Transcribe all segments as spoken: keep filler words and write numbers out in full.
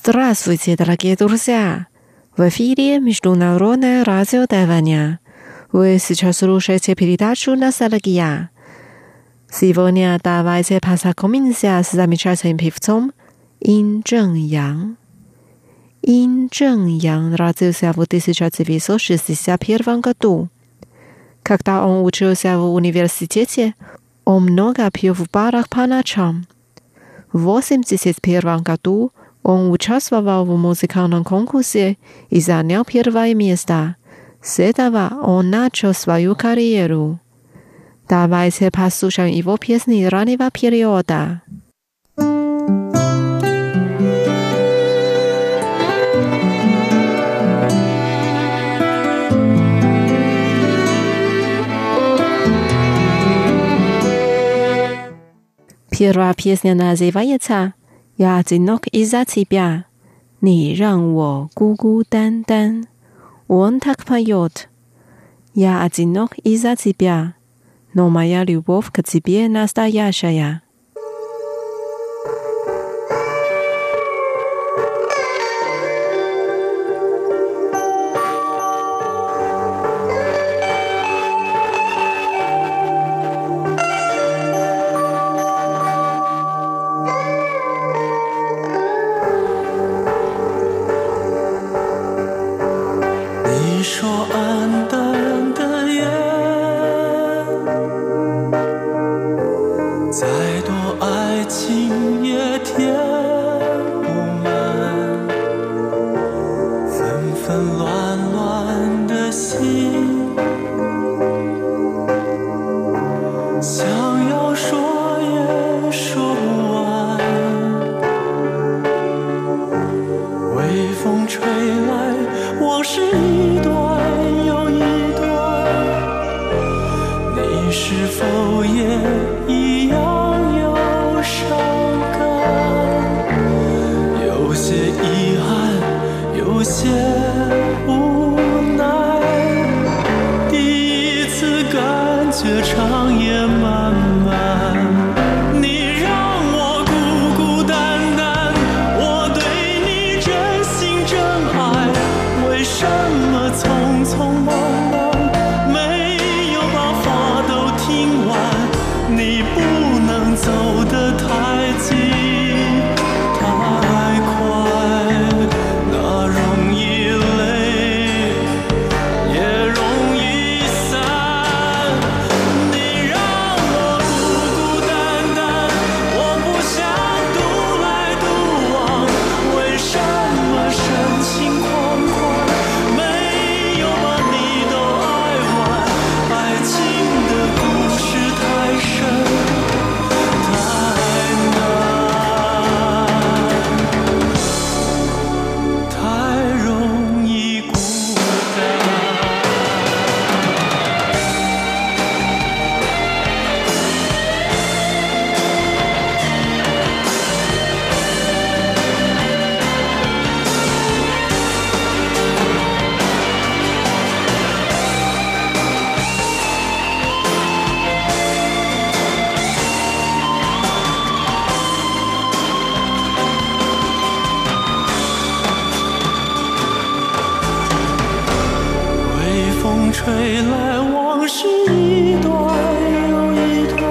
Здравствуйте, дорогие друзья! В эфире Международное радио Тайваня. Вы сейчас слушаете передачу «Ностальгия». Сегодня давайте познакомимся с замечательным певцом Ин Чжэн Ян. Ин Чжэн Ян родился в тысяча девятьсот шестьдесят первом году. Когда он учился в университете, он много пел в барах по ночам. В восемьдесят первом году он участвовал в музыкальном конкурсе и занял первое место. С этого он начал свою карьеру. Давайте послушаем его песни раннего периода. Первая песня называется «Я одинок из-за тебя,你让我孤孤单单». Он так поет: «Я одинок из-за тебя, но моя любовь к тебе настоящая». 吹来往事一段又一段，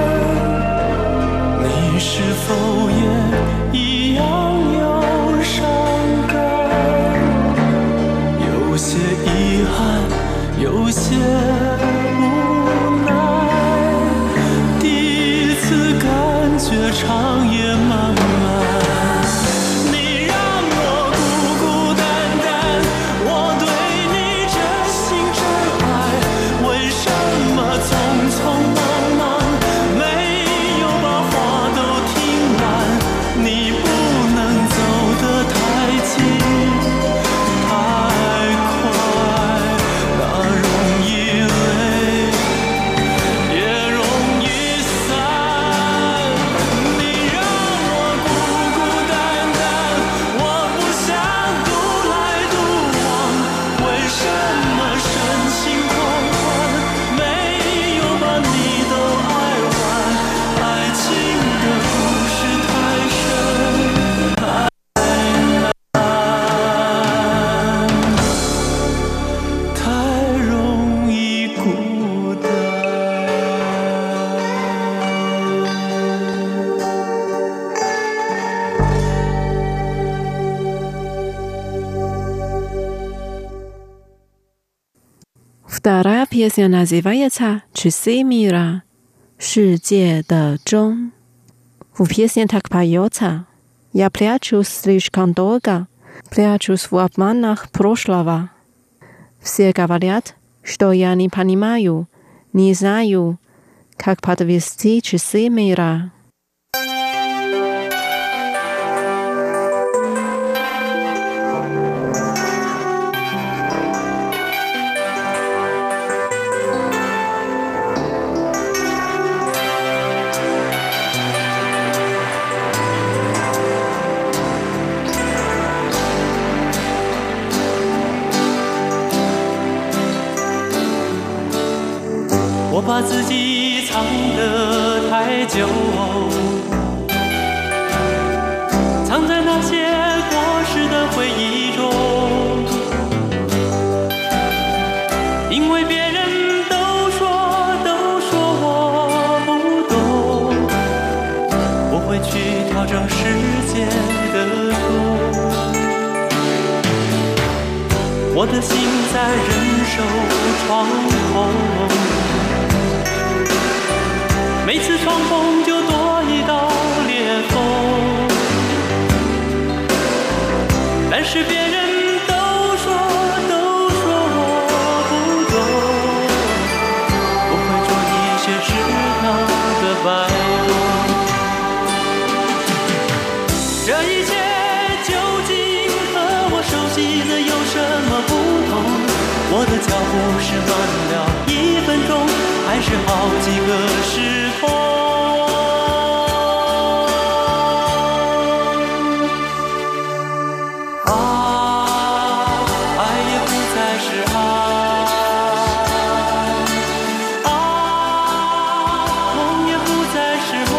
你是否也一样有伤感？有些遗憾，有些无奈，第一次感觉长夜漫漫。什么深情款款，没有把你 Вторая песня называется «Часы мира» 世界的钟。В песне так поется: «Я прячусь слишком долго, прячусь в обманах прошлого. Все говорят, что я не понимаю, не знаю, как подвести часы мира». 我把自己藏得太久，藏在那些过时的回忆中，因为别人都说都说我不懂，我会去调整世界的钟，我的心在忍受窗口，每次窗缝就多一道裂缝，但是别人都说都说我不懂，我会做一些适当的摆动。这一切究竟和我熟悉的有什么不同？我的脚步是慢了一分钟，还是好几个时空？啊，爱也不再是爱，啊，梦也不再是梦，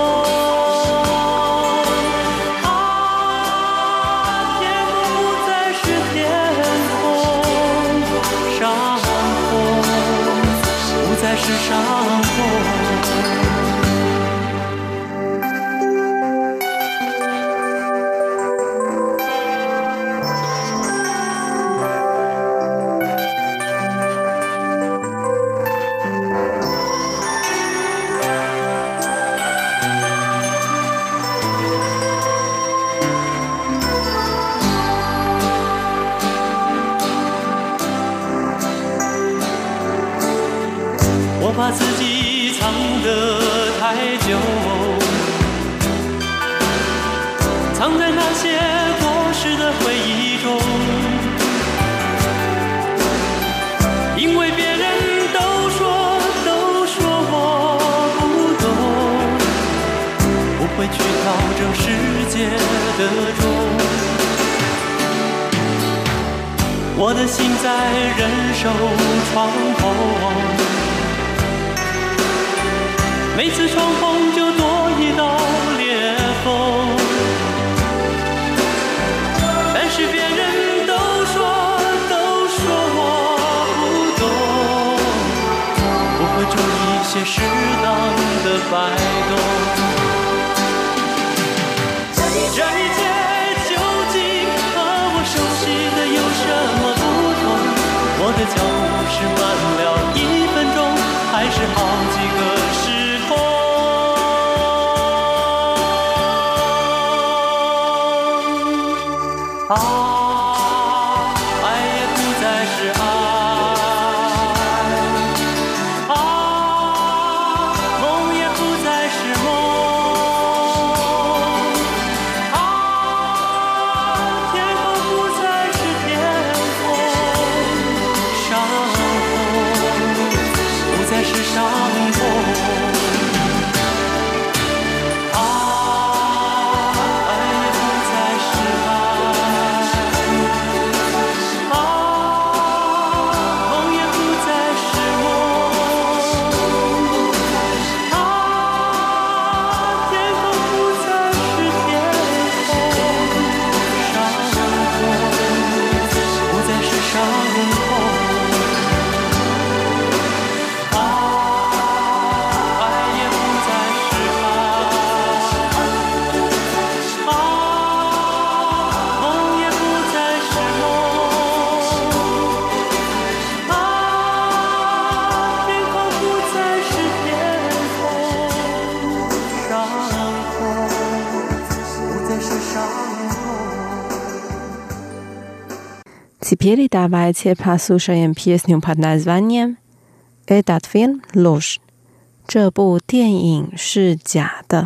啊，天空不再是天空，伤痛不再是伤痛。我把自己藏得太久，藏在那些过时的回忆中，因为别人都说都说我不懂，我会去调整世界的钟，我的心在忍受窗口，每次窗缝就多一道裂缝，但是别人都说都说我不懂，我会做一些适当的摆动。这一切究竟和我熟悉的有什么不同？我的脚步是慢了一分钟，还是好几个时空？啊，爱也不再是爱，啊，梦也不再是梦，啊，天空不再是天空，伤痛不再是伤痛。 Теперь давайте послушаем песню под названием «Этот фильм ложь». 这部电影是假的。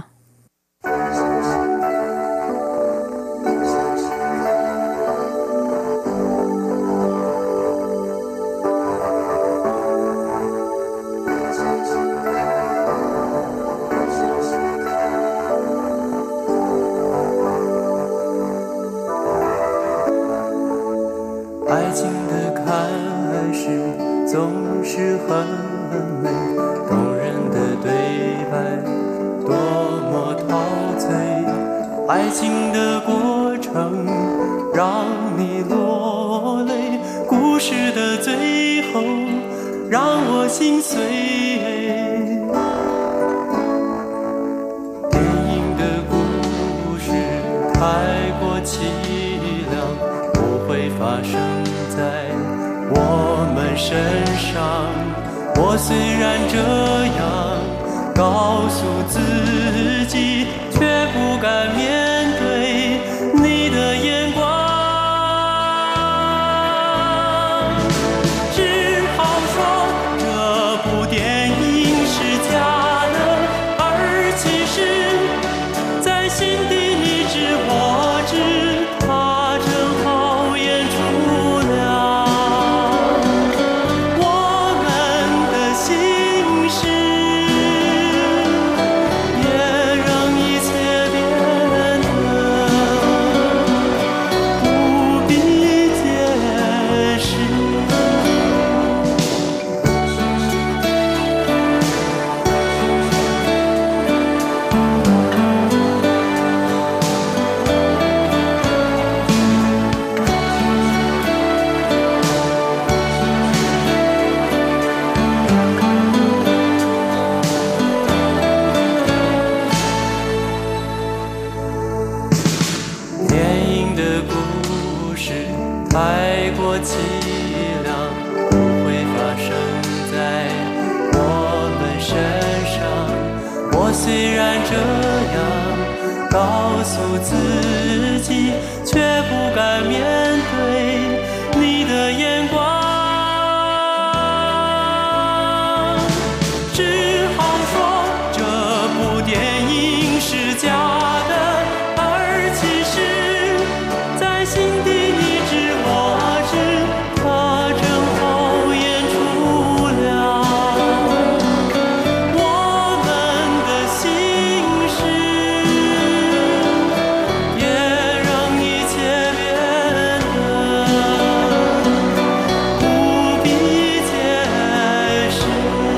爱情的开始总是很美，动人的对白多么陶醉，爱情的过程让你落泪，故事的最后让我心碎。电影的故事太过凄凉，不会发生在我们身上。我虽然这样告诉自己，却不敢面对你的眼光，只好说这部电影是假的，而其实在心底你知我知，它正好演出了我们的心事，也让一切变得不必解释。电影的故事太过凄凉，不会发生在我们身上。我虽然这样告诉自己，却不敢面对你的眼光，只好说这部电影是假的，而其实在心底你知我知，它正好演出了我们的心事，也让一切变得不必解释。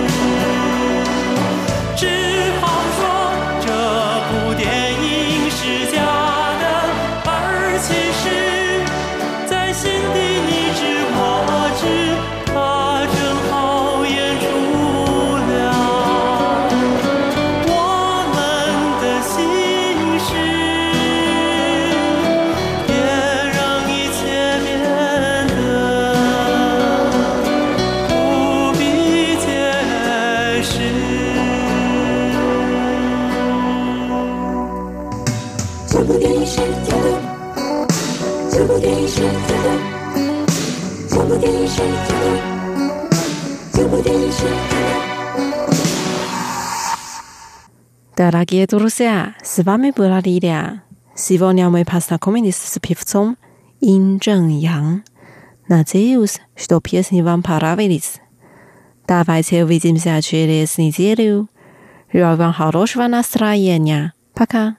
只好说这部电影是假的，而其实在心底你知我知，它正好演出了我们的心事，也让一切变得不必解释。 这部电影是假的，这部电影是假的，这部电影是假的，这部电影是假的。 Дорогие друзья, с вами была Лилия. Сегодня мы познакомились с певцом Ин Чжэн Ян. Надеюсь, что песни вам понравились. Давайте увидимся через неделю. Желаю вам хорошего настроения. Пока.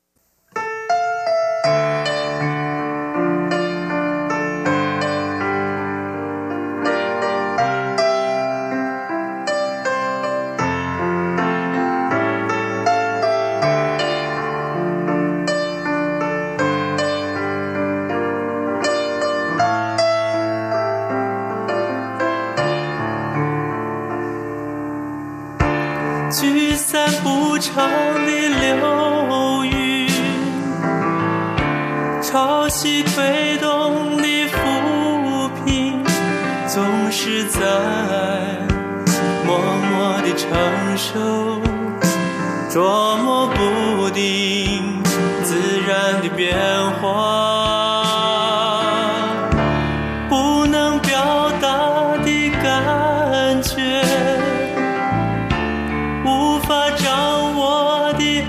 聚散不常的流云，潮汐推动的浮萍，总是在默默地承受，捉摸不定自然的变化。不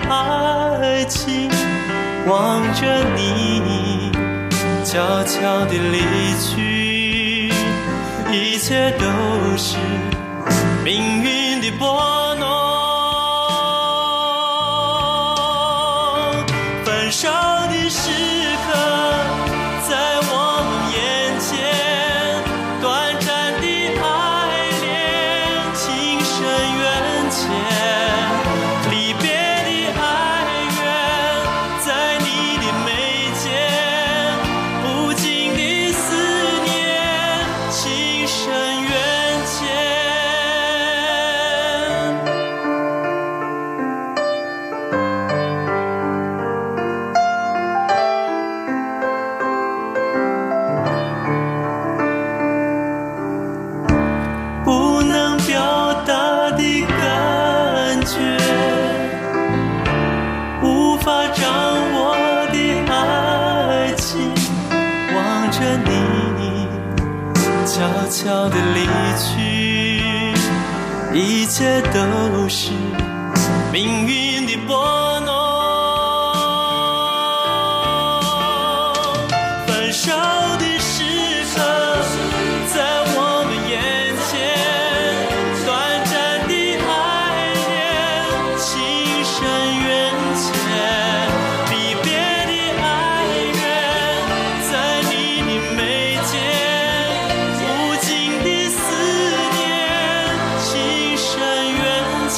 爱情，望着你悄悄地离去，一切都是命运的拨弄。分手的时刻在我们眼前，短暂的爱恋情深缘浅，离别的哀怨在你的眉间，无尽的思念情深缘浅。不能表达的感觉，无法掌握的爱情，望着你悄悄地离去，一切都是命运的拨弄。分手的时刻在我们眼前，短暂的爱恋情深缘浅，离别的哀怨在你的眉间，无尽的思念情深缘浅。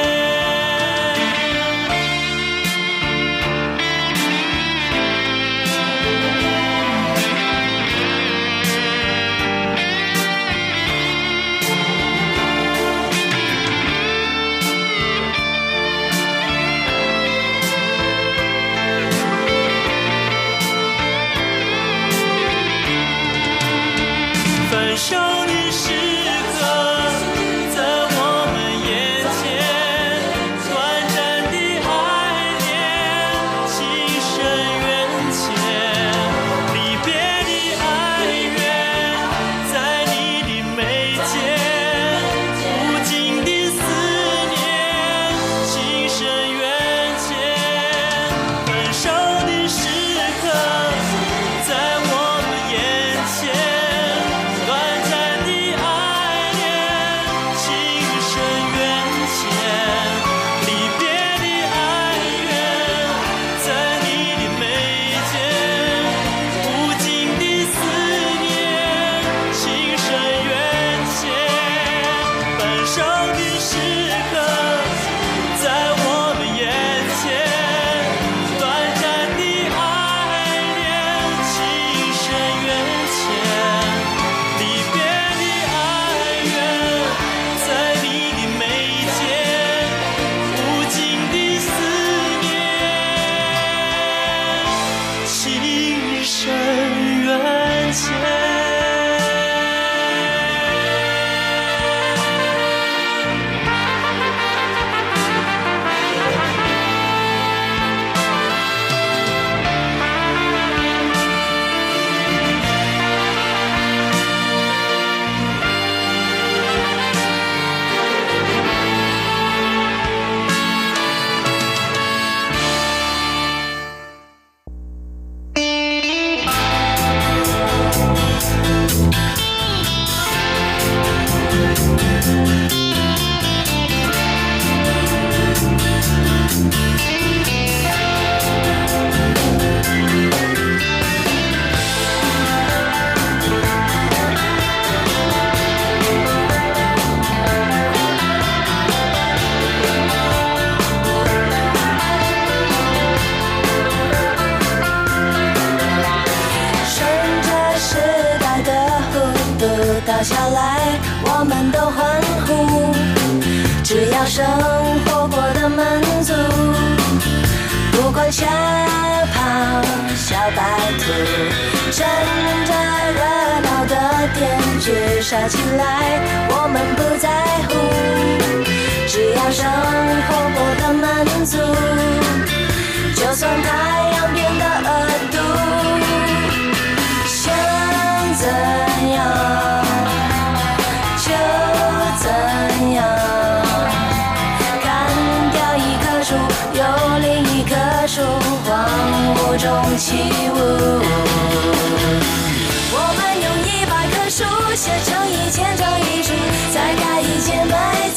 分手的时刻在我们眼前，短暂的爱恋情深缘浅，离别的哀怨在你的眉间，无尽的思念情深缘浅。分手的时刻在我们眼前，短暂的爱恋情深缘浅，离别的哀怨在你的眉间，无尽的思念情深缘浅。分手的时刻在我们眼前，短暂的爱恋情深缘浅，离别的哀怨在你的眉间，无尽的思念情深缘浅。 顺着时代的弧度倒下来，我们都欢呼，只要生活过得满足，不管小跑小白兔，趁着热闹的点举杀起来，我们不在乎，只要生活过得满足，就算太阳变得恶毒，想怎样就怎样，砍掉一棵树又树，荒芜中起舞。我们用一百棵树写成一千张遗书，再盖一千百